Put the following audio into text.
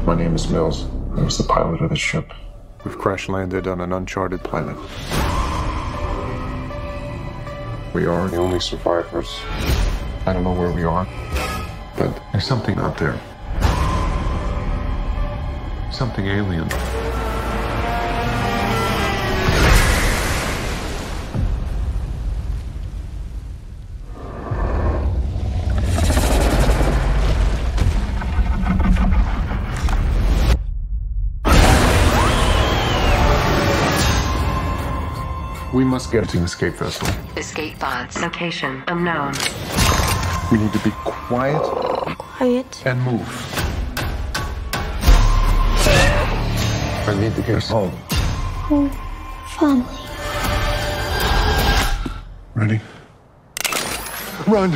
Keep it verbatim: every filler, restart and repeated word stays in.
My name is Mills. I was the pilot of the ship. We've crash landed on an uncharted planet. We are the only survivors. I don't know where we are, but there's something out there. Something alien. We must get to an escape vessel. Escape pods. Location unknown. We need to be quiet. Quiet. And move. I need to get us home. Home. Family. Ready? Run!